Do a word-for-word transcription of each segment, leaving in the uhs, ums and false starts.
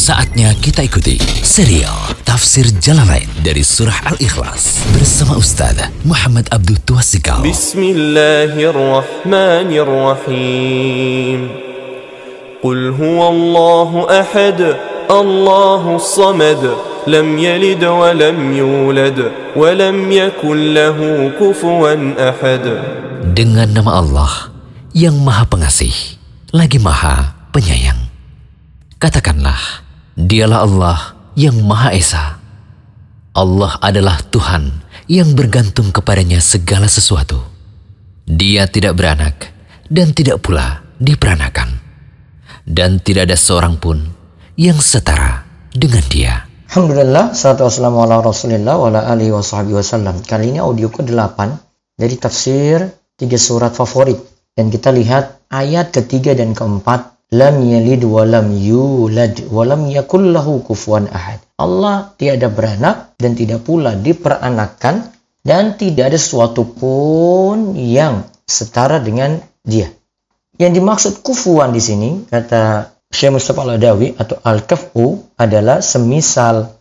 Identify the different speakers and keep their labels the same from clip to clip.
Speaker 1: Saatnya kita ikuti serial Tafsir Jalalain dari Surah Al-Ikhlas bersama Ustaz Muhammad Abdul Tuasikal.
Speaker 2: Bismillahirrahmanirrahim. Qul huwallahu ahad, Allahus samad, lam yalid wa lam yulad, wa lam yakul lahu kufuwan ahad.
Speaker 1: Dengan nama Allah yang Maha Pengasih, lagi Maha Penyayang. Katakanlah, Dialah Allah yang Maha Esa. Allah adalah Tuhan yang bergantung kepadanya segala sesuatu. Dia tidak beranak dan tidak pula diperanakan. Dan tidak ada seorang pun yang setara dengan Dia.
Speaker 3: Alhamdulillah, salatu wassalamu ala Rasulillah wa ala alihi wa sahbihi wasallam. Kali ini audio ke delapan dari tafsir tiga surat favorit. Dan kita lihat ayat ketiga dan keempat. Lam yalid wa lam yulad wa lam yakul lahu kufuwan ahad. Allah tiada beranak dan tidak pula diperanakan dan tidak ada sesuatu pun yang setara dengan Dia. Yang dimaksud kufuwan di sini kata Syekh Mustafa Al-Adawi atau al-kaf'u adalah semisal,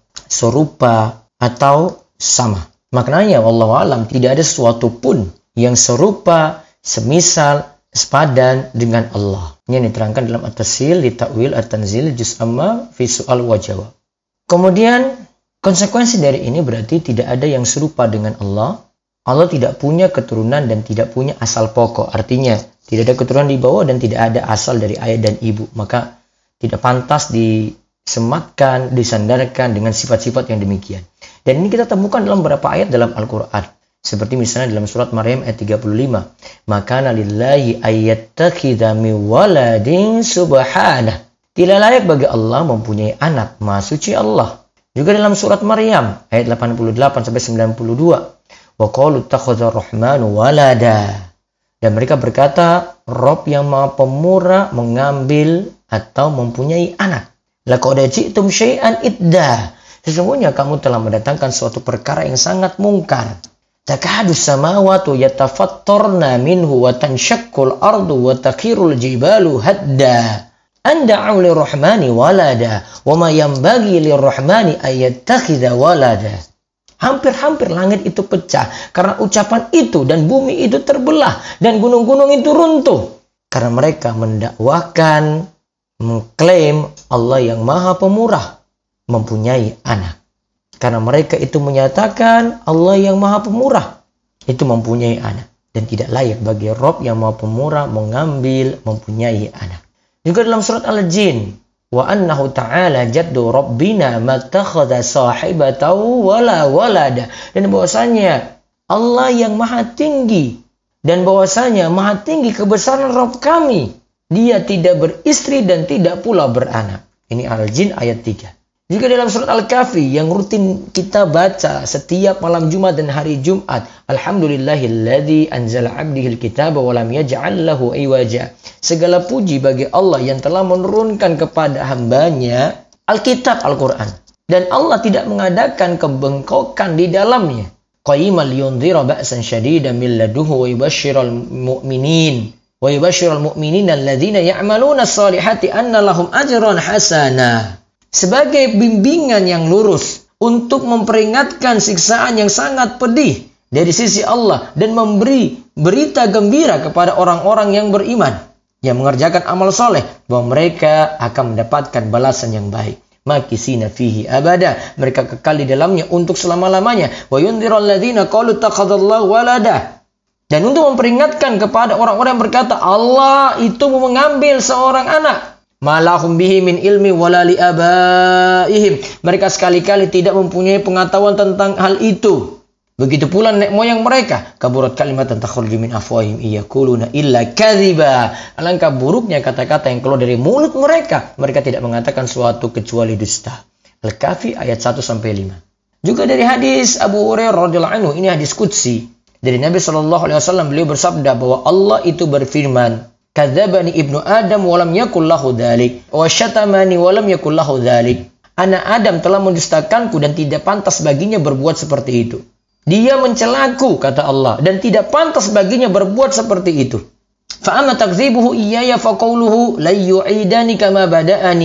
Speaker 3: serupa atau sama. Maknanya wallahu alam tidak ada sesuatu pun yang serupa, semisal, sepadan dengan Allah. Ini yang diterangkan dalam At-Tasil li Ta'wil At-Tanzil Juz' Amma fi Su'al wa Jawab. Kemudian konsekuensi dari ini berarti tidak ada yang serupa dengan Allah. Allah tidak punya keturunan dan tidak punya asal pokok. Artinya tidak ada keturunan di bawah dan tidak ada asal dari ayah dan ibu. Maka tidak pantas disematkan, disandarkan dengan sifat-sifat yang demikian. Dan ini kita temukan dalam beberapa ayat dalam Al-Quran. Seperti misalnya dalam surat Maryam ayat tiga puluh lima. Makana lillahi ayyattakhidha min waladin subhanah. Tidak layak bagi Allah mempunyai anak. Maha suci Allah. Juga dalam surat Maryam ayat delapan puluh delapan sampai sembilan puluh dua. Wa qalu ittakhadha ar-rahmanu walada. Dan mereka berkata, Rob yang Maha Pemurah mengambil atau mempunyai anak. Laqad ji'tum syai'an idda. Sesungguhnya kamu telah mendatangkan suatu perkara yang sangat mungkar. Takadu samawatu yatafattarna minhu wa tanshaqqul ardu wa takhirul jibalu hadda. Anda'u lirrahmani walada wa ma yanbaghi lirrahmani ayyattakhidha walada. Hampir-hampir langit itu pecah karena ucapan itu dan bumi itu terbelah dan gunung-gunung itu runtuh karena mereka mendakwakan, mengklaim Allah yang Maha Pemurah mempunyai anak. Karena mereka itu menyatakan Allah yang Maha Pemurah itu mempunyai anak. Dan tidak layak bagi Rob yang Maha Pemurah mengambil, mempunyai anak. Juga dalam surat Al-Jin. Wa annahu ta'ala jaddu rabbina matakhadha sahibatan wala walada. Dan bahwasanya Allah yang Maha Tinggi. Dan bahwasanya Maha Tinggi kebesaran Rob kami. Dia tidak beristri dan tidak pula beranak. Ini Al-Jin ayat tiga. Juga dalam surat Al-Kahfi yang rutin kita baca setiap malam Jumat dan hari Jumat. Alhamdulillahilladzi anzala 'abdihil kitaba wa lam yaj'al lahu iwaja. Segala puji bagi Allah yang telah menurunkan kepada hambanya Alkitab Al-Quran. Dan Allah tidak mengadakan kebengkokan di dalamnya. Qayyiman liyundhira ba'san syadidan min laduhu wa yubashshiral mu'minin. Wa yubashshiral mu'minina alladzina ya'maluna as-salihati anna lahum ajran hasanah. Sebagai bimbingan yang lurus untuk memperingatkan siksaan yang sangat pedih dari sisi Allah dan memberi berita gembira kepada orang-orang yang beriman yang mengerjakan amal soleh bahwa mereka akan mendapatkan balasan yang baik. Makisina fihi abada, mereka kekal di dalamnya untuk selama-lamanya. Wa yundhiral ladzina qalu ittakhadallahu walada. Dan untuk memperingatkan kepada orang-orang yang berkata Allah itu mengambil seorang anak. Malahum bihi min ilmi wala li abaihim. Mereka sekali-kali tidak mempunyai pengetahuan tentang hal itu. Begitu pula nenek moyang mereka. Kaburat kalimatan takhruju min afwahihim iyaquluna illa kadziba. Alangkah buruknya kata-kata yang keluar dari mulut mereka. Mereka tidak mengatakan suatu kecuali dusta. Al-Kahfi ayat satu sampai lima. Juga dari hadis Abu Hurairah radhiyallahu anhu, ini hadis qudsi dari Nabi sallallahu alaihi wasallam, beliau bersabda bahwa Allah itu berfirman, Kadzabani ibnu Adam walam yakul lahu dzalik wa syatamani walam yakul lahu dzalik. Anak Adam telah mendustakanku dan tidak pantas baginya berbuat seperti itu. Dia mencelaku, kata Allah, dan tidak pantas baginya berbuat seperti itu. Fa amma takdzibuhu iyaya fa qawluhu la yu'idani kama bada'ani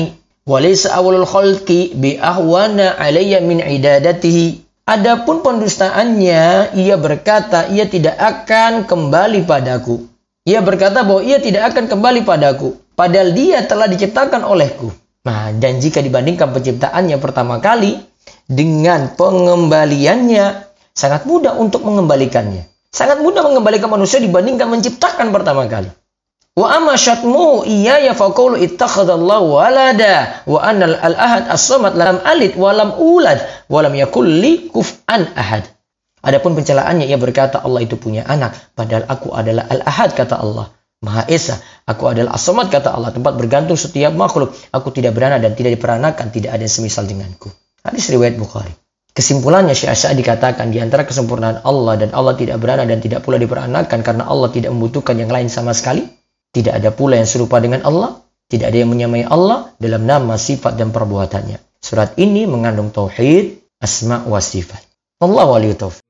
Speaker 3: Walaysa awalul khalqi bi ahwana alayya min idadatihi. Adapun pendustaannya, ia berkata ia tidak akan kembali padaku. Ia berkata bahwa ia tidak akan kembali padaku, padahal dia telah diciptakan olehku. Nah, dan jika dibandingkan penciptaannya pertama kali dengan pengembaliannya, sangat mudah untuk mengembalikannya. Sangat mudah mengembalikan manusia dibandingkan menciptakan pertama kali. Wa amma syatmu iyaya faqulu ittakhadallahu walada wa anal al-ahad as-samad lam alid wa lam ulad wa lam yakul li kuf'an ahad. Adapun pencelaannya, ia berkata Allah itu punya anak, padahal aku adalah al-ahad, kata Allah, Maha Esa. Aku adalah as-samad, kata Allah, tempat bergantung setiap makhluk. Aku tidak beranak dan tidak diperanakan, tidak ada yang semisal denganku. Hadis riwayat Bukhari. Kesimpulannya, Syekh As-Sa'di dikatakan di antara kesempurnaan Allah dan Allah tidak beranak dan tidak pula diperanakan karena Allah tidak membutuhkan yang lain sama sekali. Tidak ada pula yang serupa dengan Allah. Tidak ada yang menyamai Allah dalam nama, sifat, dan perbuatannya. Surat ini mengandung tauhid, asma wa sifat. Wallahu waliyut taufiq.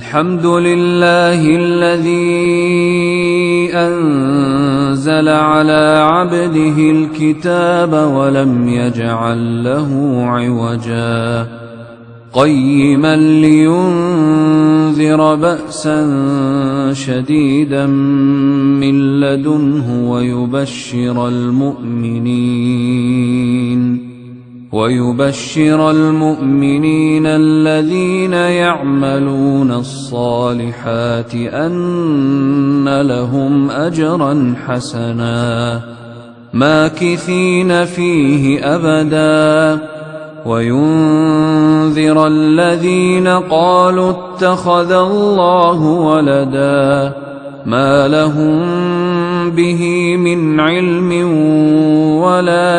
Speaker 4: Alhamdulillahilladzi anzala ala 'abdihi al-kitaba wa lam yaj'al lahu 'iwaja qayyiman liyunzira ba'san shadidan min ladunhu wa yubashshiral mu'minin ويبشر المؤمنين الذين يعملون الصالحات أن لهم أجرا حسنا ماكثين فيه أبدا وينذر الذين قالوا اتخذ الله ولدا ما لهم به من علم ولا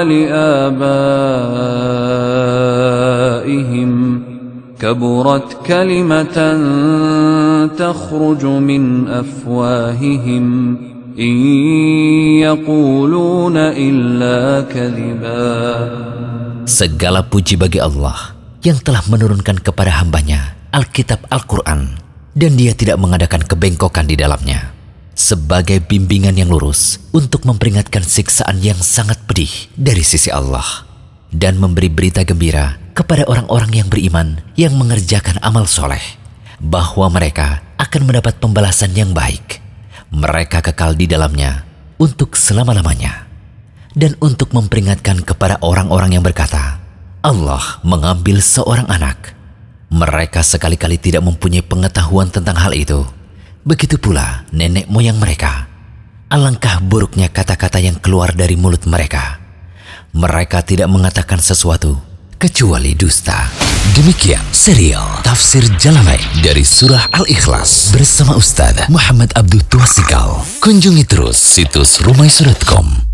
Speaker 4: لآبائهم كبرت كلمة تخرج من أفواههم إن يقولون إلا كذبا.
Speaker 1: Segala puji bagi Allah yang telah menurunkan kepada hambanya Alkitab Al-Quran, dan dia tidak mengadakan kebengkokan di dalamnya, sebagai bimbingan yang lurus untuk memperingatkan siksaan yang sangat pedih dari sisi Allah, dan memberi berita gembira kepada orang-orang yang beriman yang mengerjakan amal soleh, bahwa mereka akan mendapat pembalasan yang baik. Mereka kekal di dalamnya untuk selama-lamanya. Dan untuk memperingatkan kepada orang-orang yang berkata, Allah mengambil seorang anak. Mereka sekali-kali tidak mempunyai pengetahuan tentang hal itu. Begitu pula nenek moyang mereka. Alangkah buruknya kata-kata yang keluar dari mulut mereka. Mereka tidak mengatakan sesuatu kecuali dusta. Demikian serial Tafsir Jalalain dari Surah Al-Ikhlas bersama Ustaz Muhammad Abdul Tuasikal. Kunjungi terus situs rumaiso dot com.